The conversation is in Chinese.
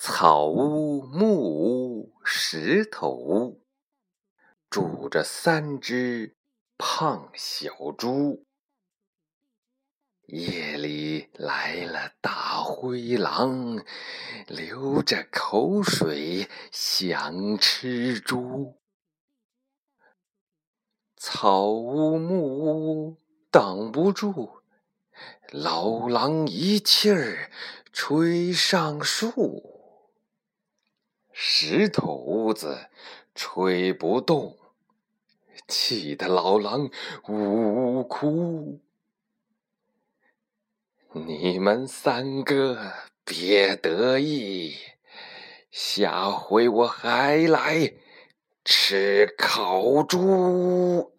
草屋木屋石头屋，住着3只胖小猪。夜里来了大灰狼，流着口水想吃猪。草屋木屋挡不住，老狼一气儿吹上树。石头屋子吹不动，气得老狼呜呜哭。你们3个别得意，下回我还来吃烤猪。